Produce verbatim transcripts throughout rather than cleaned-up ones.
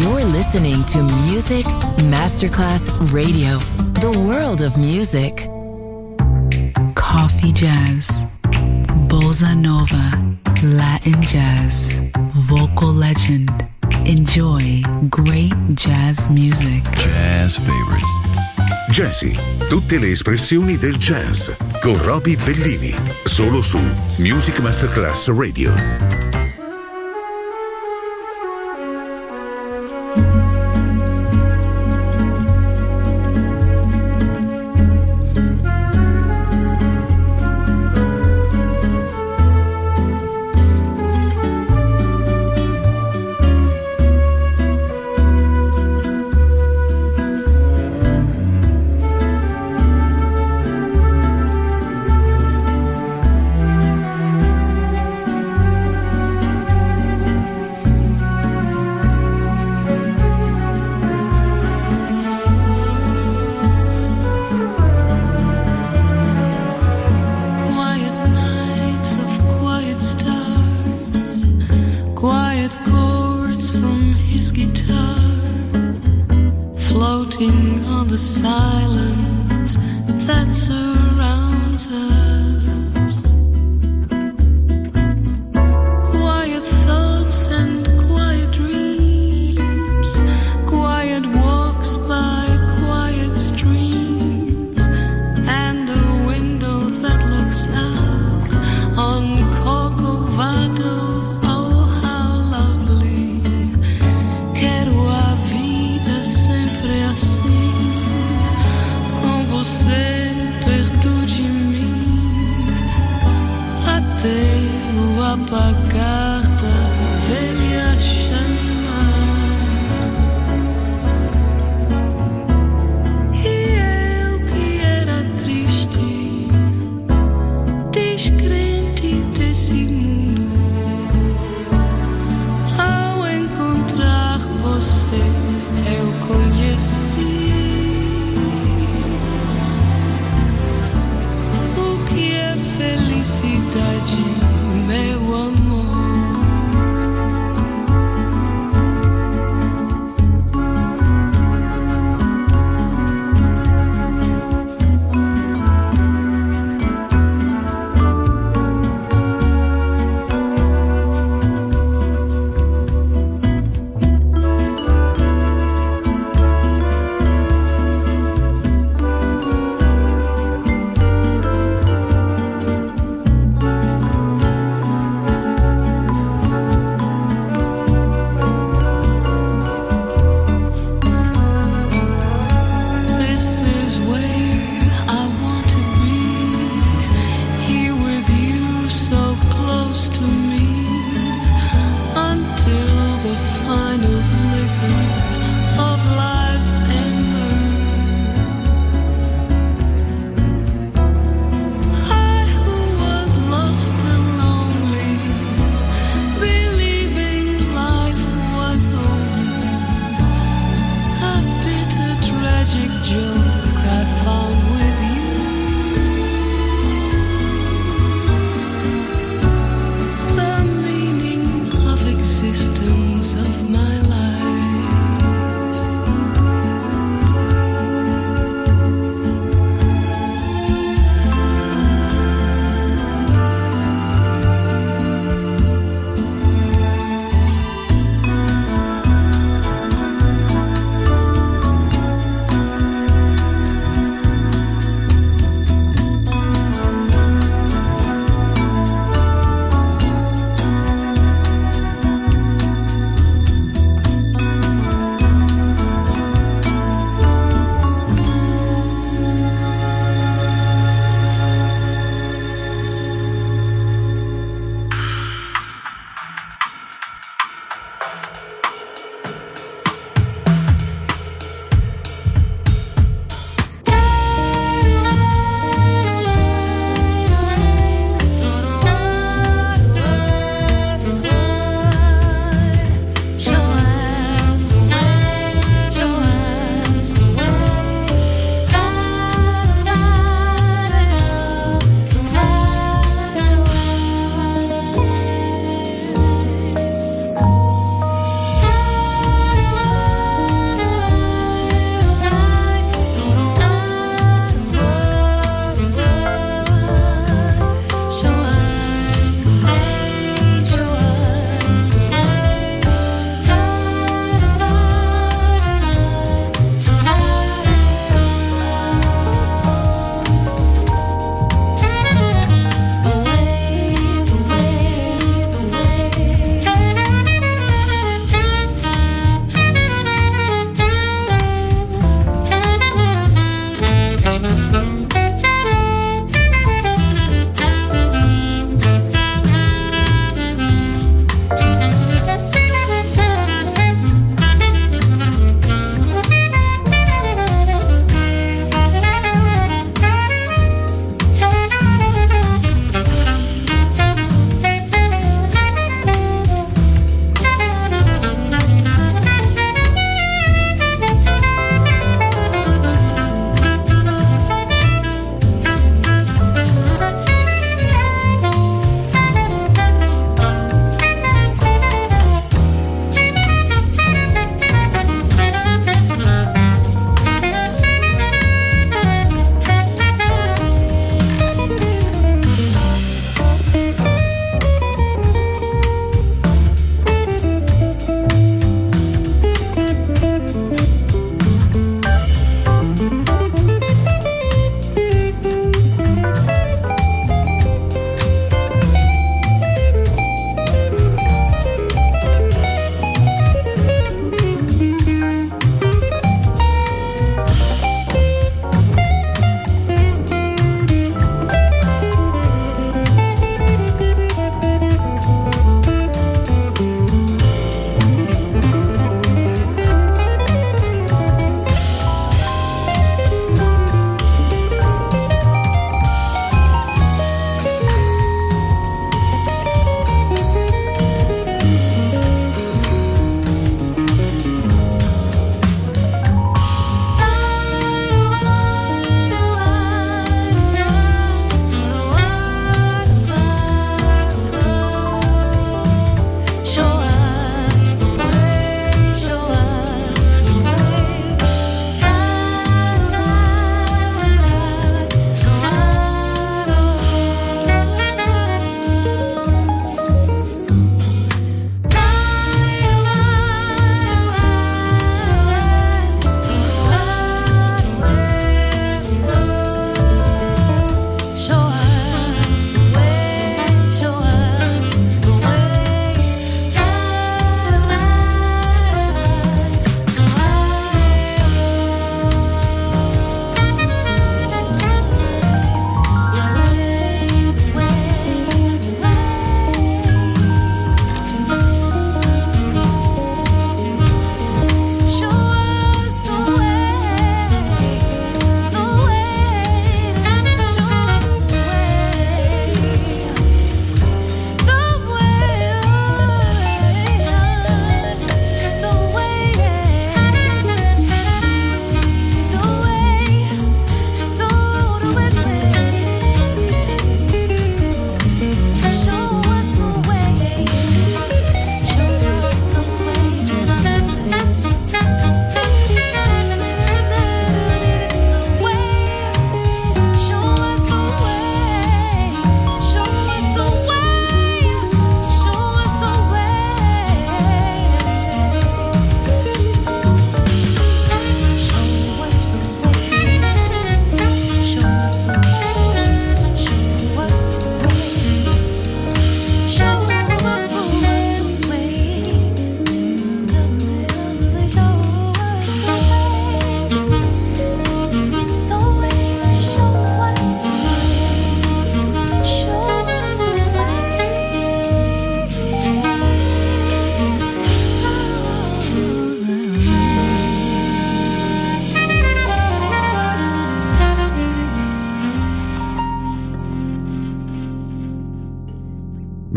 You're listening to Music Masterclass Radio, the world of music. Coffee jazz, bossa nova, Latin jazz, vocal legend. Enjoy great jazz music. Jazz favorites. Jazzy, tutte le espressioni del jazz con Roby Bellini, solo su Music Masterclass Radio. Você pertence.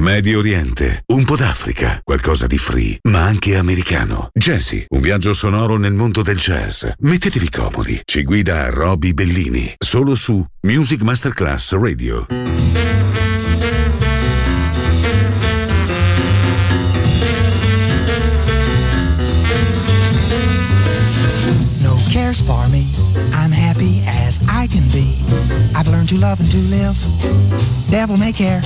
Medio Oriente, un po' d'Africa, qualcosa di free, ma anche americano. Jazzy, un viaggio sonoro nel mondo del jazz. Mettetevi comodi. Ci guida Roby Bellini, solo su Music Masterclass Radio. No cares for me, I'm happy as I can be. I've learned to love and to live, devil may care.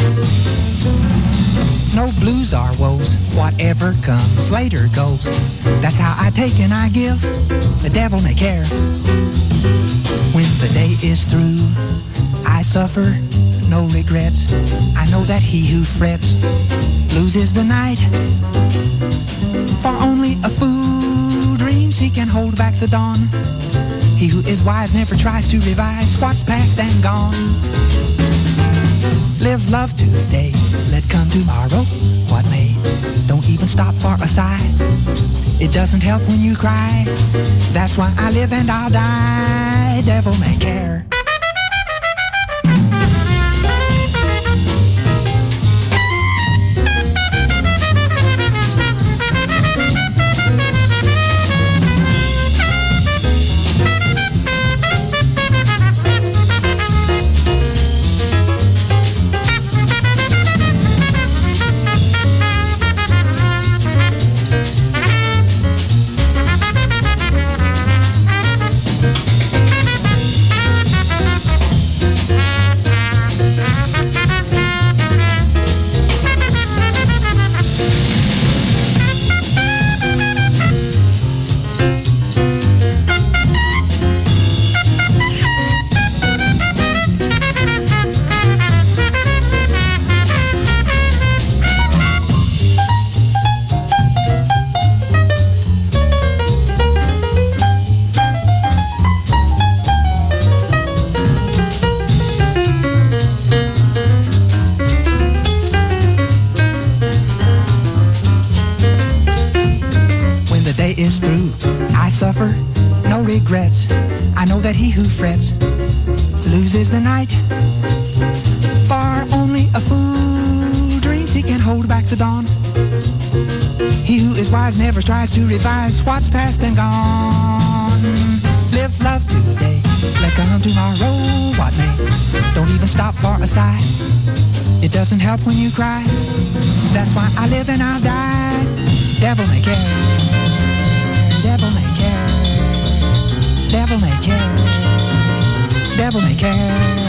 No blues or woes, whatever comes later goes. That's how I take and I give, the devil may care. When the day is through, I suffer no regrets. I know that he who frets loses the night. For only a fool dreams he can hold back the dawn. He who is wise never tries to revise what's past and gone. Live love today, let come tomorrow, what may. Don't even stop for a sigh. It doesn't help when you cry. That's why I live and I'll die. Devil may care. Is through, I suffer no regrets. I know that he who frets loses the night. For only a fool dreams he can hold back the dawn. He who is wise never tries to revise what's past and gone. Live love today, let come tomorrow, what may. Don't even stop for a sigh. It doesn't help when you cry. That's why I live and I'll die. Devil may care. Devil may care, devil may care, devil may care.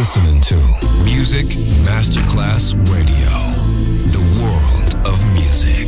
listening to Music Masterclass Radio, the world of music.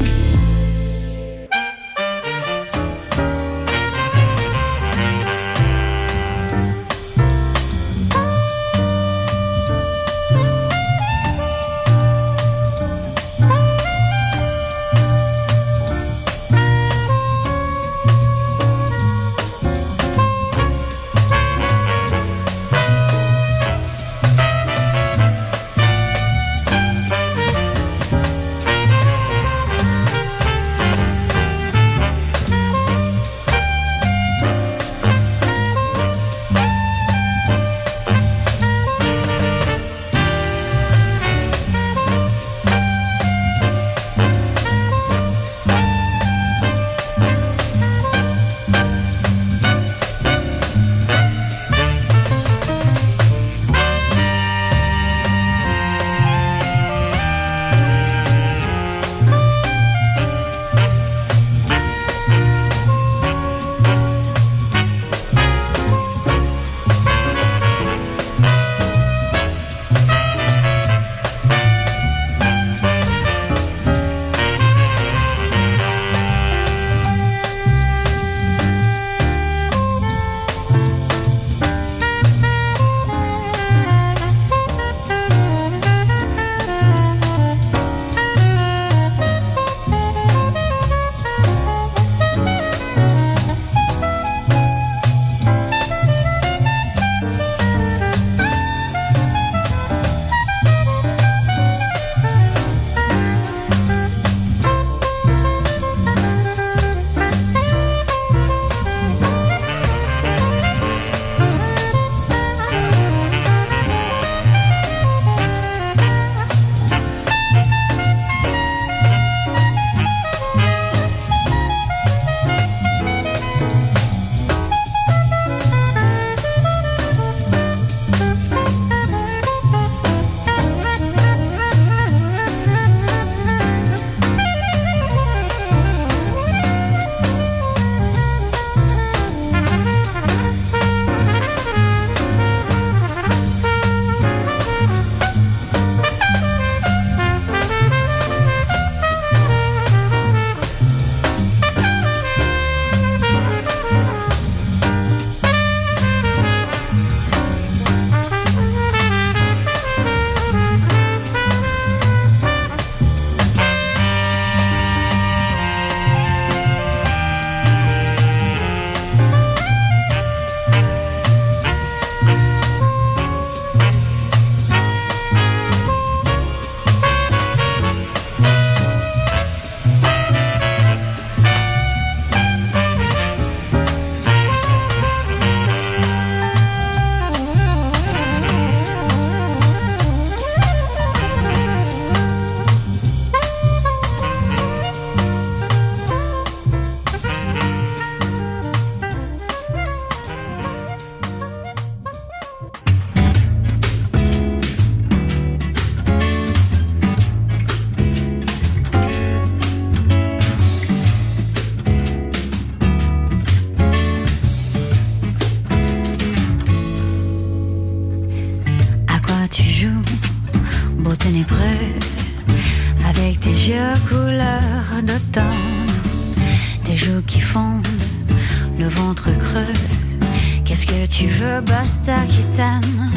Basta qui t'aime,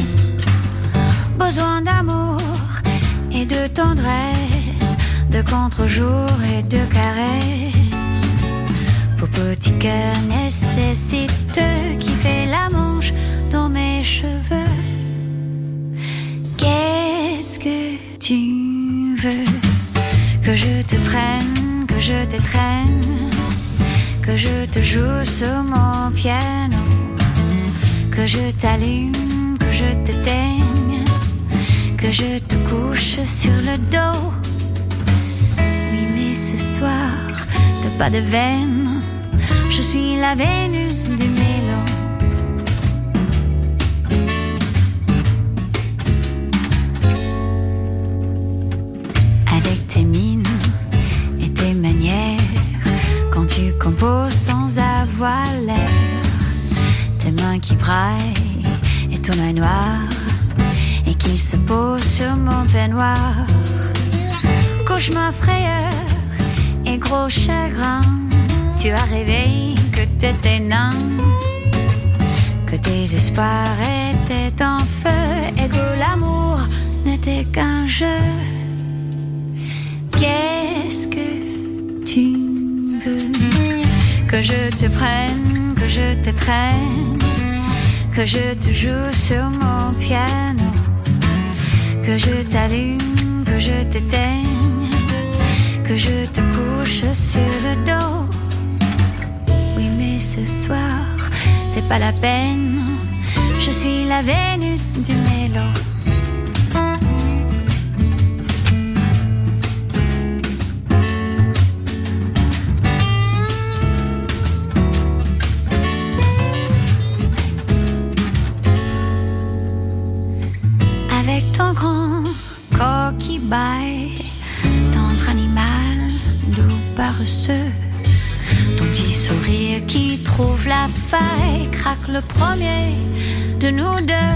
besoin d'amour et de tendresse, de contre-jour et de caresses. Pour petit cœur nécessite qui fait la manche dans mes cheveux. Qu'est-ce que tu veux? Que je te prenne, que je t'étreigne, que je te joue sur mon piano, que je t'allume, que je t'éteigne, que je te couche sur le dos. Oui, mais ce soir, t'as pas de veine, je suis la Vénus du mélo. Avec tes mines et tes manières, quand tu composes sans avoir l'air, tes mains qui braillent et ton œil noir, qui se pose sur mon peignoir. Cauchemar, frayeur et gros chagrin. Tu as rêvé que t'étais nain, que tes espoirs étaient en feu et que l'amour n'était qu'un jeu. Qu'est-ce que tu veux? Que je te prenne, que je te traîne, que je te joue sur mon piano, que je t'allume, que je t'éteigne, que je te couche sur le dos. Oui, mais ce soir, c'est pas la peine, je suis la Vénus du mélo. Avec ton grand corps qui baille, tendre animal, doux paresseux, ton petit sourire qui trouve la faille, craque le premier de nous deux.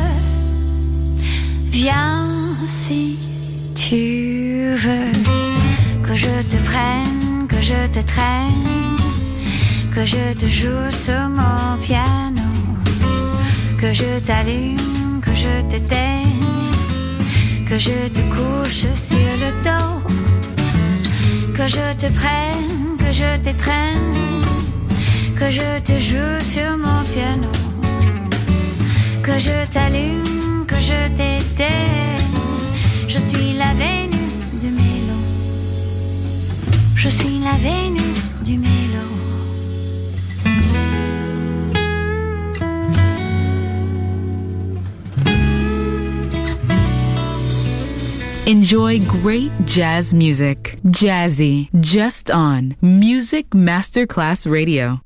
Viens si tu veux, que je te prenne, que je te traîne, que je te joue sur mon piano, que je t'allume, que je t'éteigne, que je te couche sur le dos, que je te prenne, que je t'étreigne, que je te joue sur mon piano, que je t'allume, que je t'éteigne. Je suis la Vénus du mélo. Je suis la Vénus du mélo. Enjoy great jazz music. Jazzy, just on Music Masterclass Radio.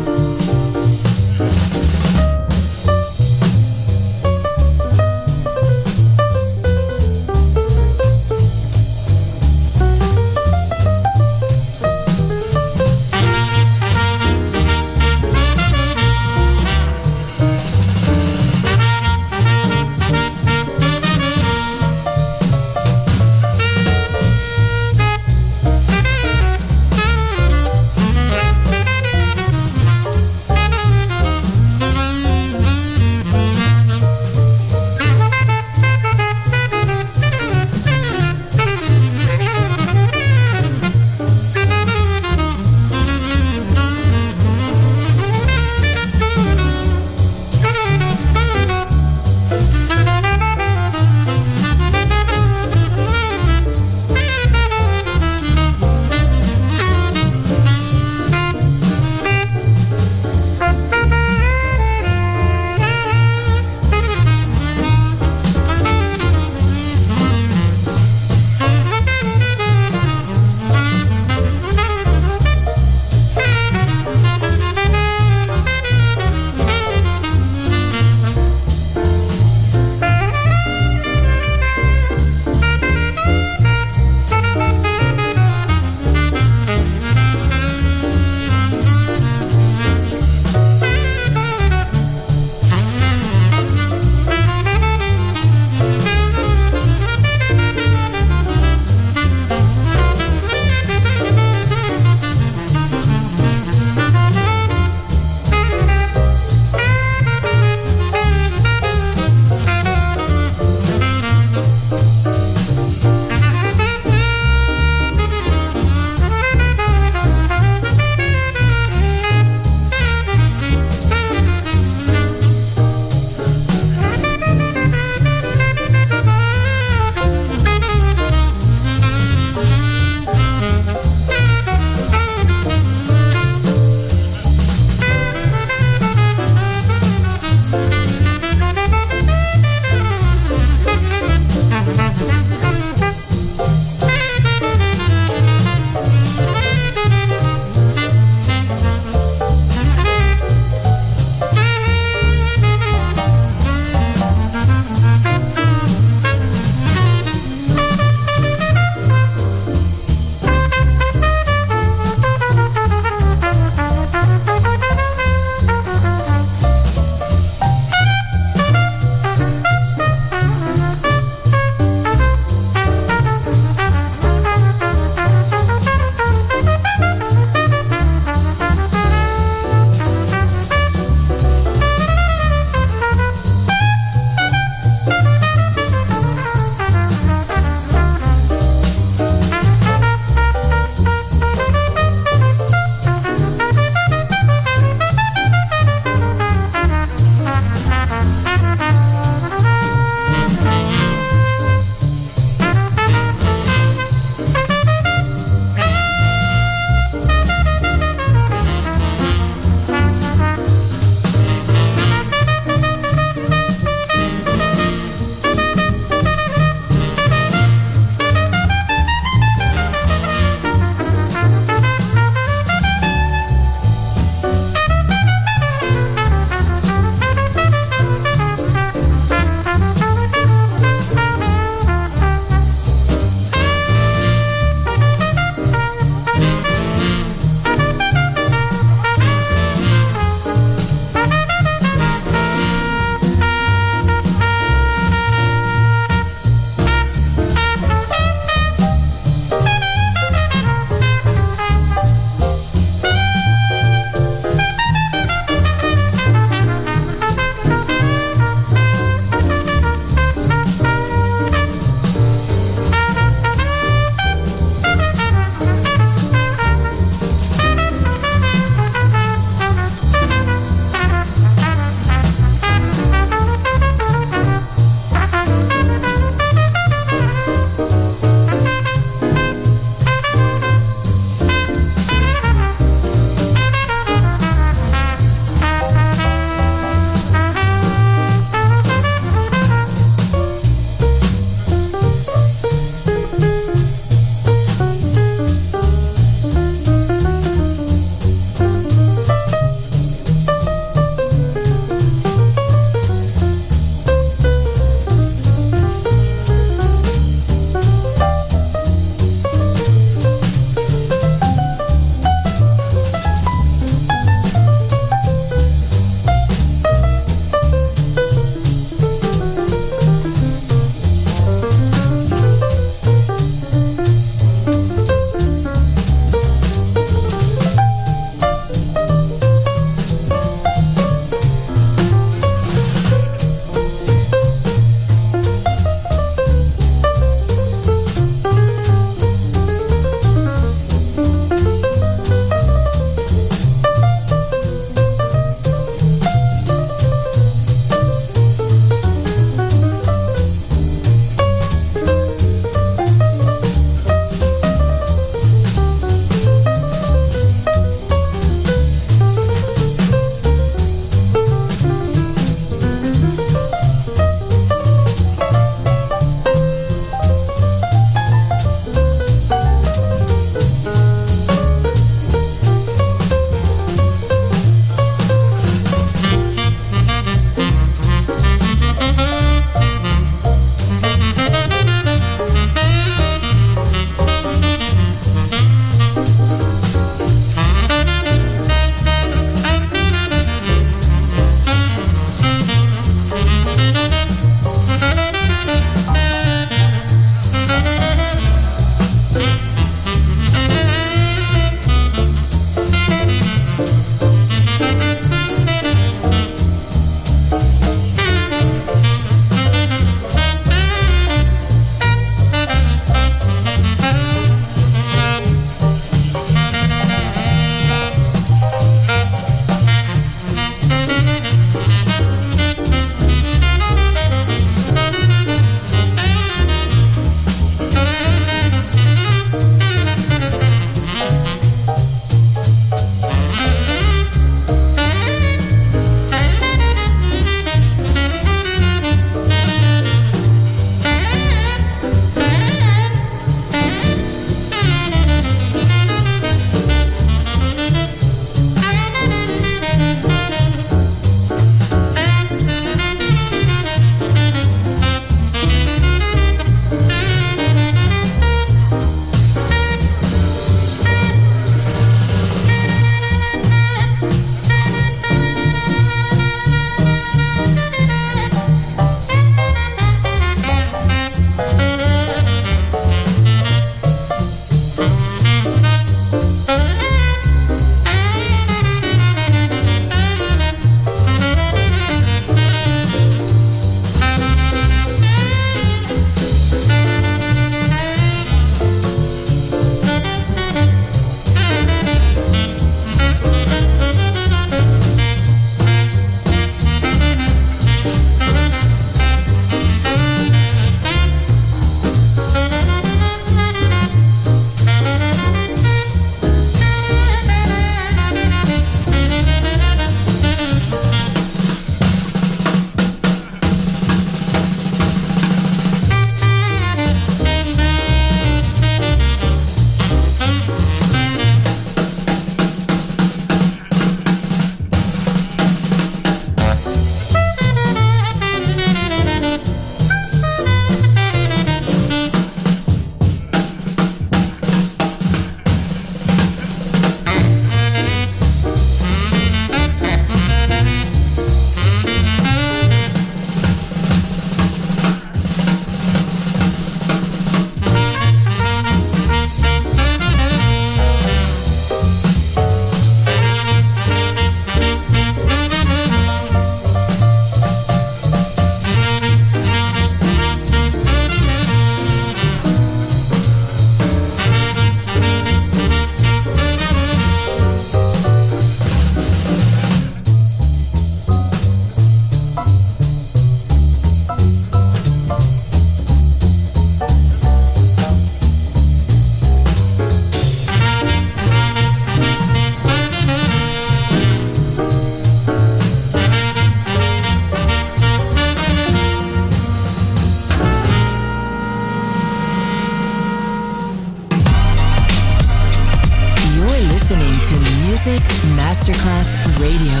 Music Masterclass Radio.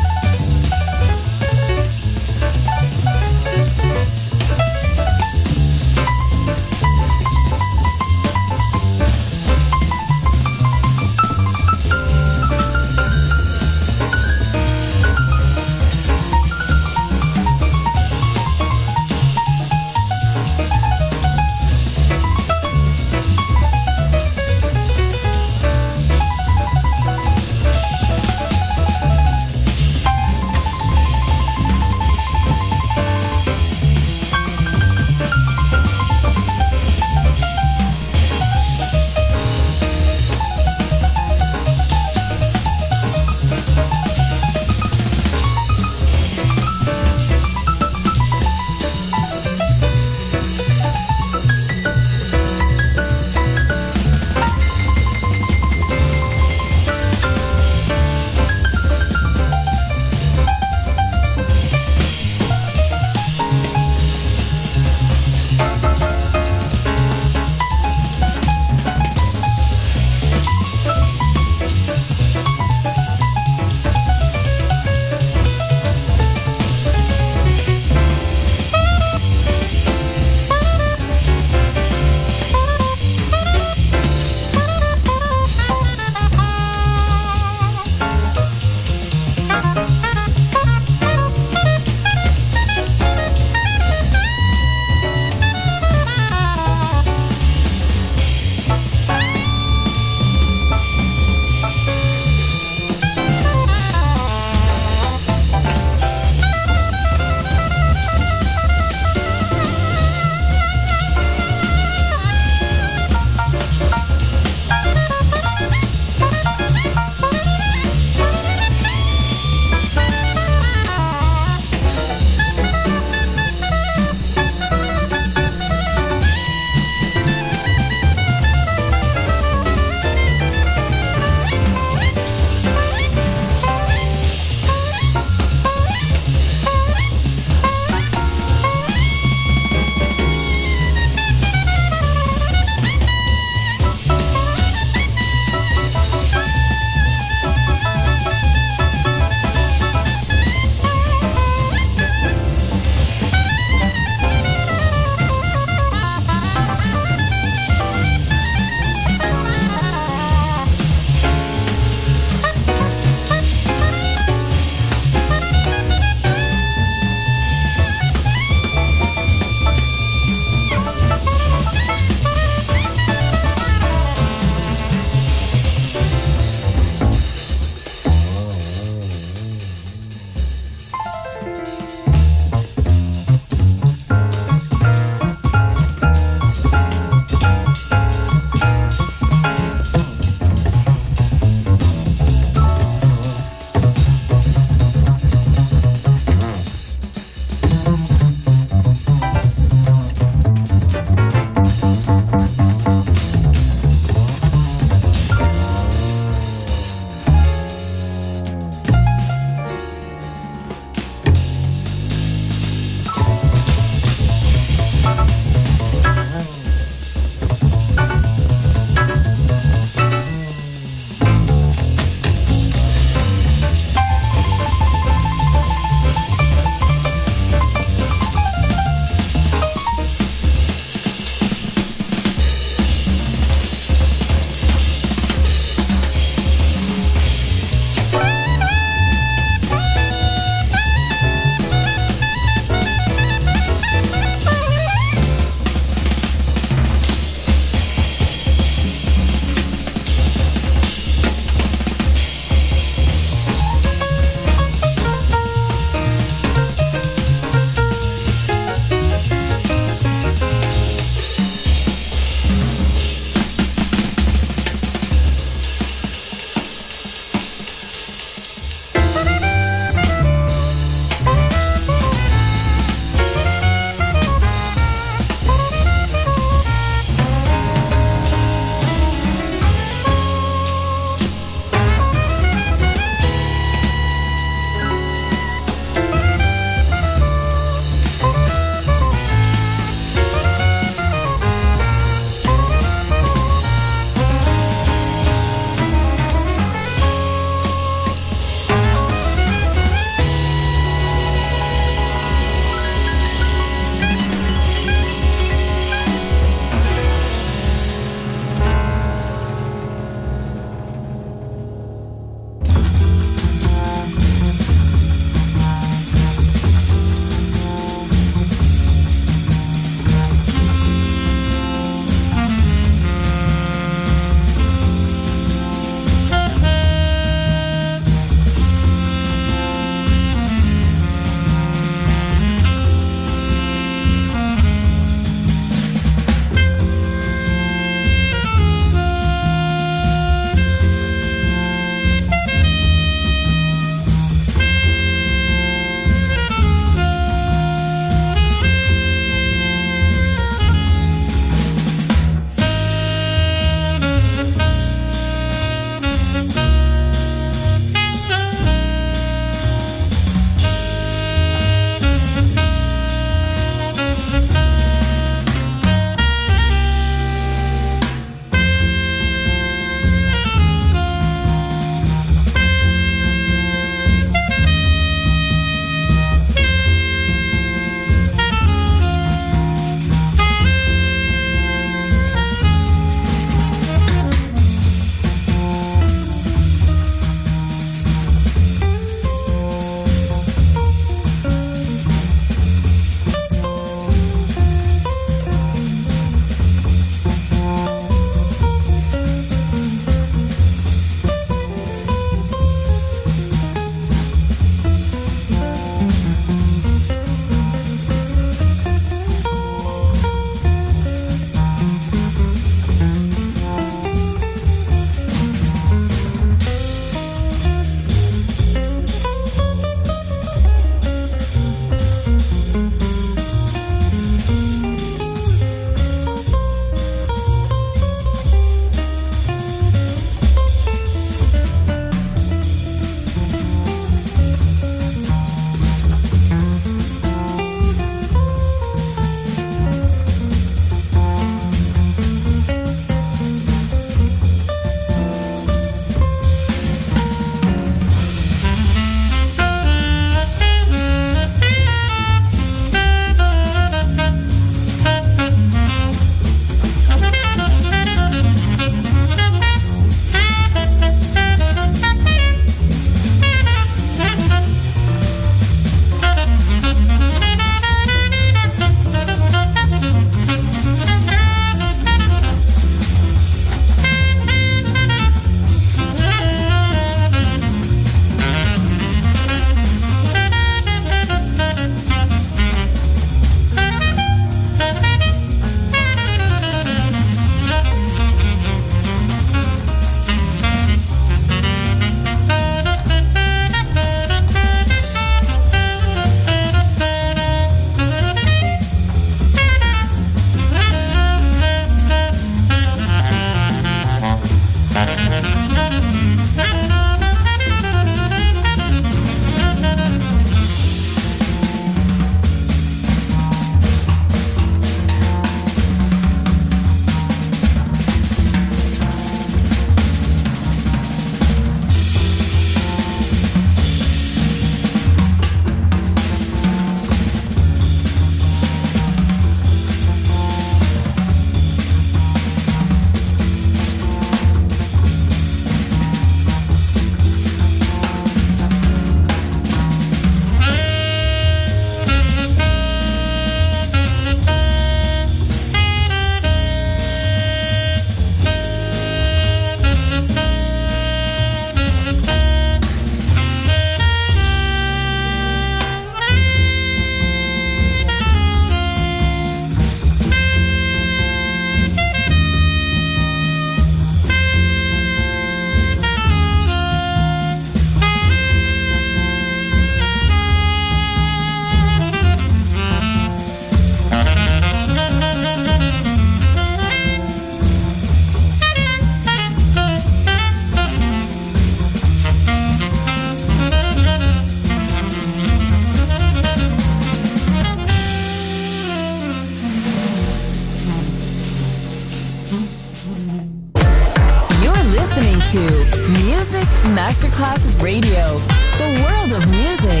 listening to Music Masterclass Radio, the world of music.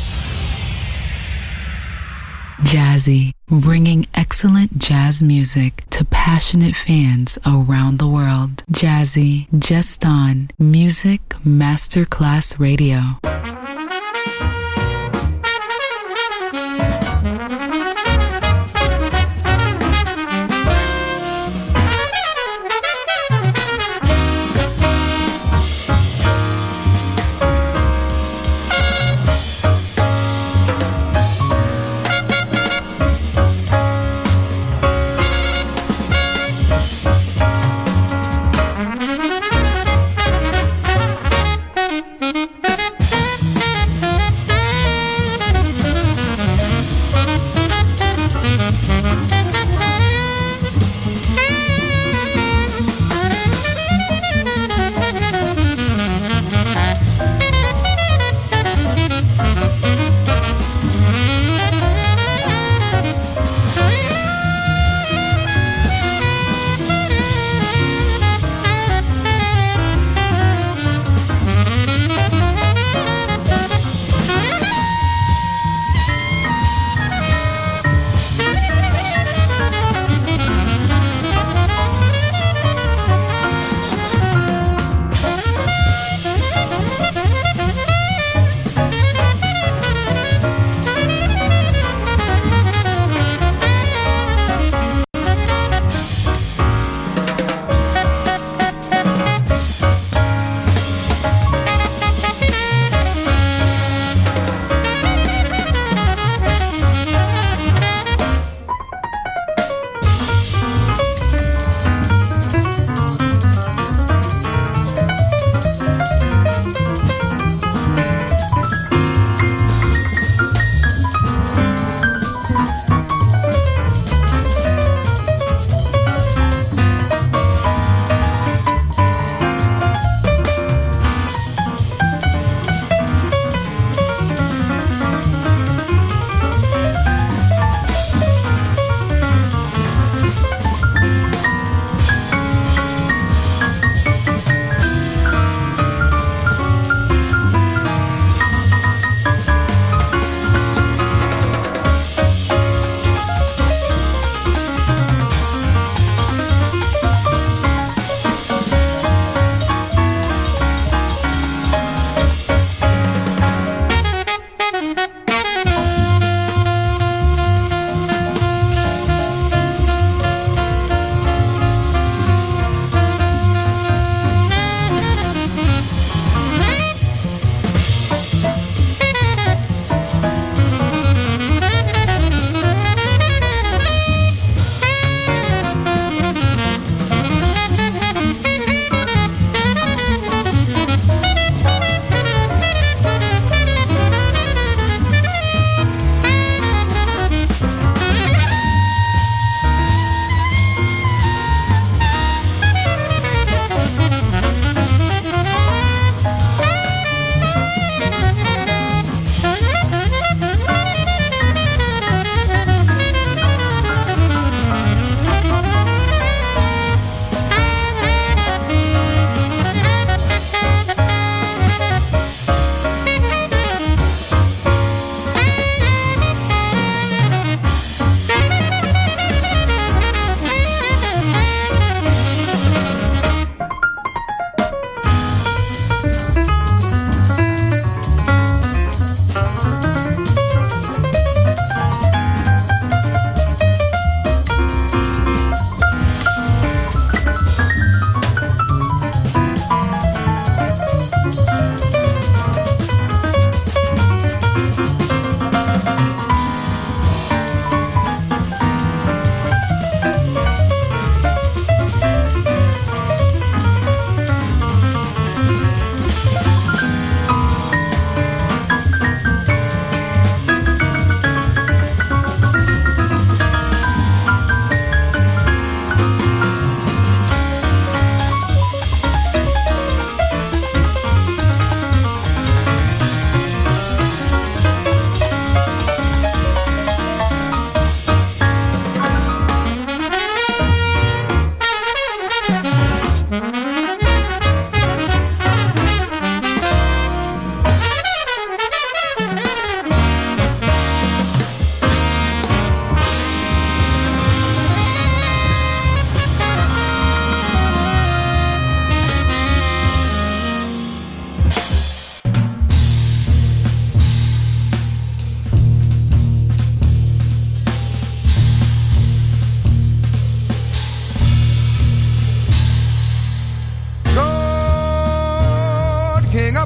Jazzy, bringing excellent jazz music to passionate fans around the world. Jazzy, just on Music Masterclass Radio.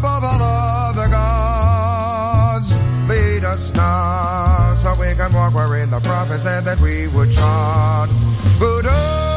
above all other gods. Lead us now, so we can walk wherein the prophet said that we would trod. Buddha,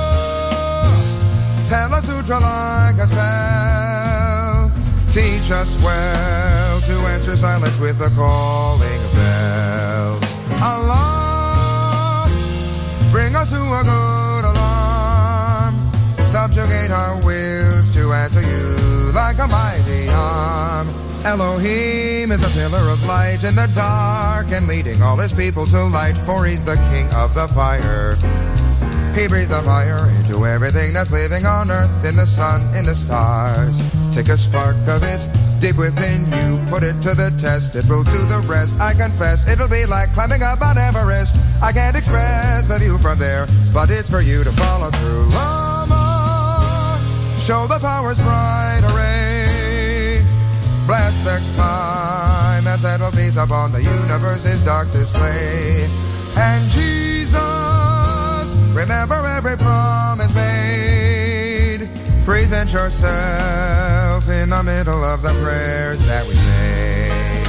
tell us sutra like a spell. Teach us well to answer silence with the calling of bells. Allah, bring us to a good alarm. Subjugate our wills to answer you like a mighty arm. Elohim is a pillar of light in the dark and leading all his people to light, for he's the king of the fire. He breathes the fire into everything that's living on earth, in the sun, in the stars. Take a spark of it deep within you, put it to the test, it will do the rest. I confess, it'll be like climbing up Mount Everest. I can't express the view from there, but it's for you to follow through. Lama, show the power's bright array. Bless the climb and settle peace upon the universe's dark display. And Jesus, remember every promise made. Present yourself in the middle of the prayers that we say.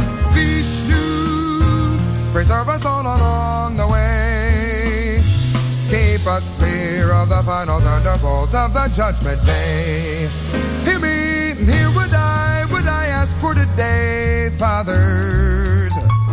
Vishnu, preserve us all along the way. Keep us clear of the final thunderbolts of the judgment day. Hear me, hear what I, what I ask for today, fathers.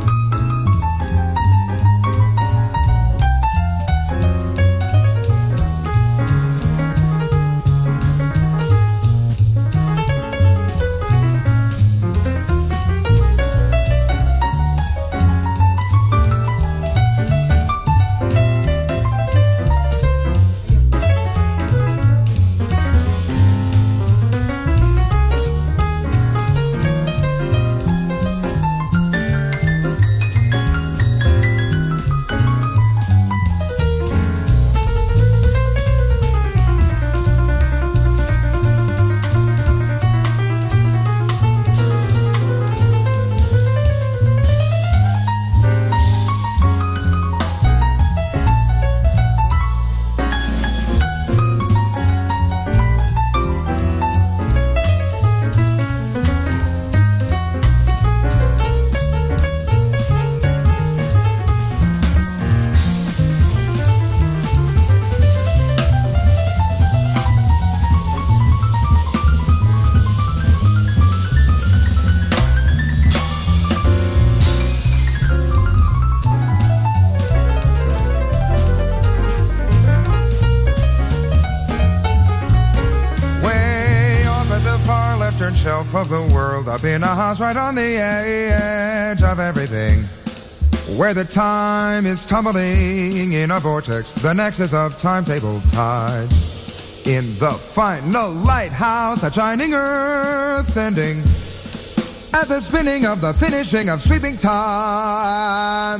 Shelf of the world, up in a house right on the edge of everything, where the time is tumbling in a vortex, the nexus of timetable tides. In the final lighthouse, a shining earth sending at the spinning of the finishing of sweeping time.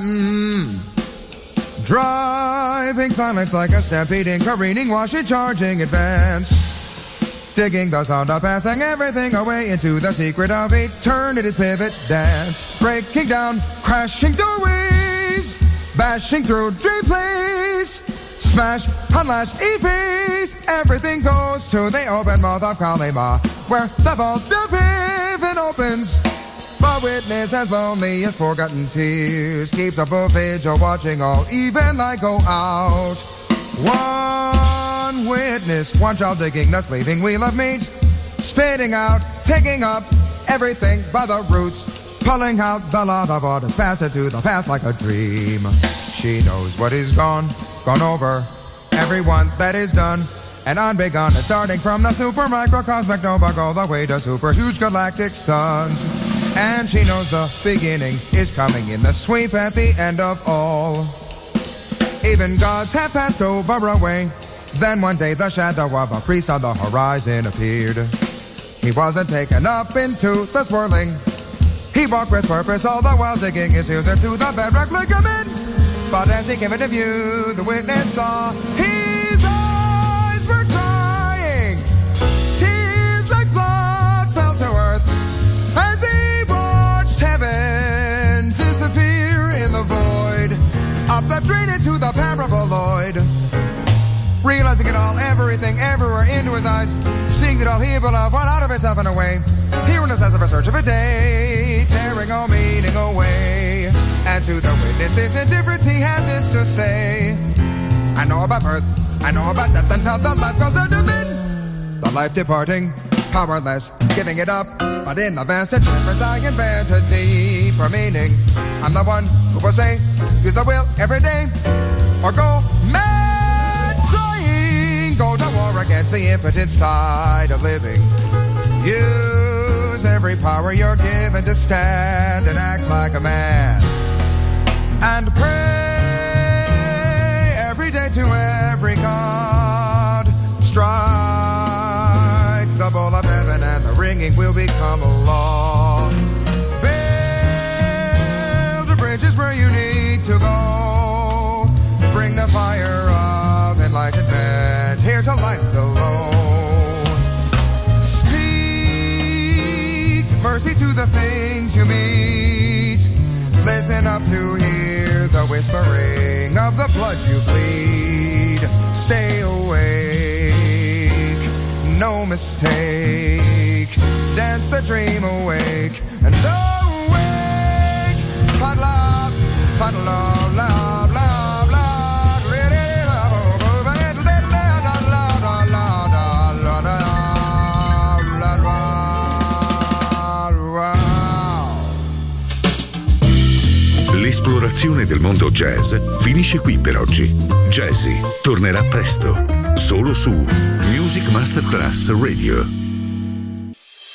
Driving silence like a stampeding, careening, washing, charging, advance. Digging the sound of passing everything away into the secret of eternity's pivot dance. Breaking down, crashing doorways, bashing through dream plays. Smash, unlash, e-piece, everything goes to the open mouth of Kalima, where the vault of heaven opens. The witness as lonely as forgotten tears keeps up a vigil watching all even light go out. One witness, one child digging the sleeping wheel of meat, spitting out, taking up everything by the roots, pulling out the lot of what has passed into the past like a dream. She knows what is gone, gone over, everyone that is done and unbegun, and starting from the super microcosmic nova all the way to super huge galactic suns. And she knows the beginning is coming in the sweep at the end of all. Even gods have passed over away. Then one day the shadow of a priest on the horizon appeared. He wasn't taken up into the swirling. He walked with purpose all the while digging his heels into the bedrock ligament. But as he came into view, the witness saw his eyes were crying. Tears like blood fell to earth as he watched heaven disappear in the void of the drain into the paraboloid. Realizing it all, everything, everywhere, into to his eyes, seeing that all he beloved went out of itself and away. Hearing us as of a search of a day, tearing all meaning away. And to the witnesses indifference he had this to say: I know about birth, I know about death, until the life goes into men. The life departing, powerless, giving it up. But in the vast indifference I invent a deeper meaning. I'm the one who will say, use the will every day, or go mad trying. Go to war against the impotent side of living. Use every power you're given to stand and act like a man. And pray every day to every god. Strike the bowl of heaven and the ringing will become a law. Build bridges where you need to go. Bring the fire of enlightenment here to life below. Speak mercy to the things you meet. Listen up to hear the whispering of the blood you bleed. Stay awake, no mistake. Dance the dream awake and awake. Fight love, fight love, love, love, love. Really love, love, L'esplorazione del mondo jazz finisce qui per oggi. Jazzy tornerà presto, solo su Music Masterclass Radio.